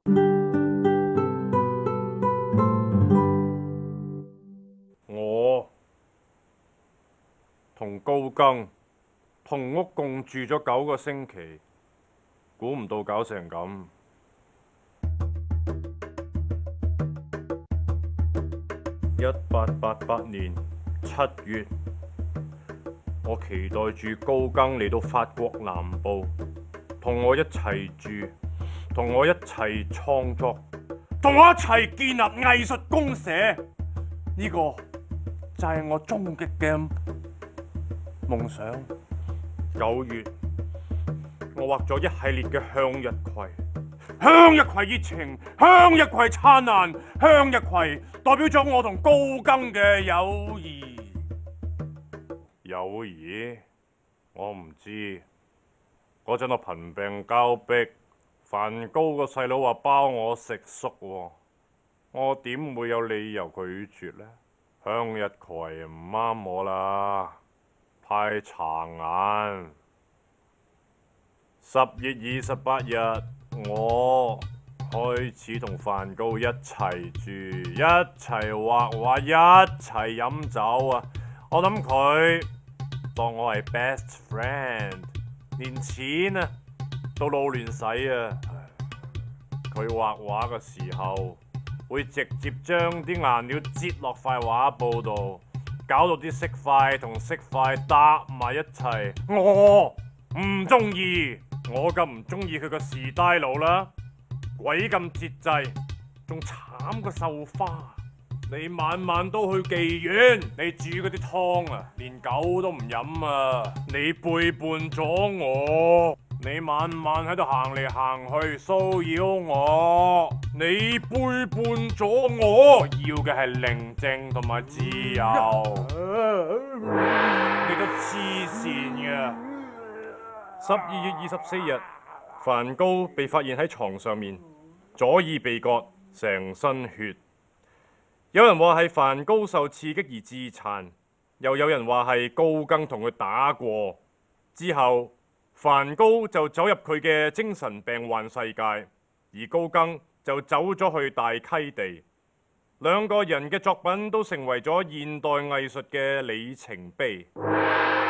我同高更同屋共住咗9個星期，估唔到搞成咁。1888年7月，我期待住高更嚟到法國南部，同我一齊住，同我一齊創作，同我一齊建立藝術公社。呢個就係我終極嘅夢想。9月，我畫咗一系列嘅向日葵，向日葵熱情，向日葵燦爛，向日葵代表咗我同高更嘅友誼。友誼？我唔知。嗰陣我貧病交迫，梵高個細佬話包我食宿喎，我點會有理由拒絕呢？向日葵唔啱我啦，太殘眼。10月28日，我開始同梵高一齊住，一齊畫畫，一齊飲酒啊！我諗佢當我係 best friend， 連錢啊都撈亂使啊！佢畫畫嘅時候會直接將啲顏料擠落塊畫布度，搞到啲色塊同色塊搭埋一齊。我唔中意，我咁唔中意佢個 style 啦，鬼咁節制，仲慘過繡花。你晚晚都去妓院，你煮嗰啲湯啊，連狗都唔飲啊！你背叛咗我，你晚晚喺度行嚟行去騷擾我，你背叛咗我。要嘅係寧靜同埋自由。你都黐線嘅。12月24日，梵高被發現喺床上面，左耳被割，成身血。有人話係梵高受刺激而自殘，又有人話係高更同佢打過。之後，梵高就走入佢嘅精神病患世界，而高更就走咗去大溪地。兩個人嘅作品都成為咗現代藝術嘅里程碑。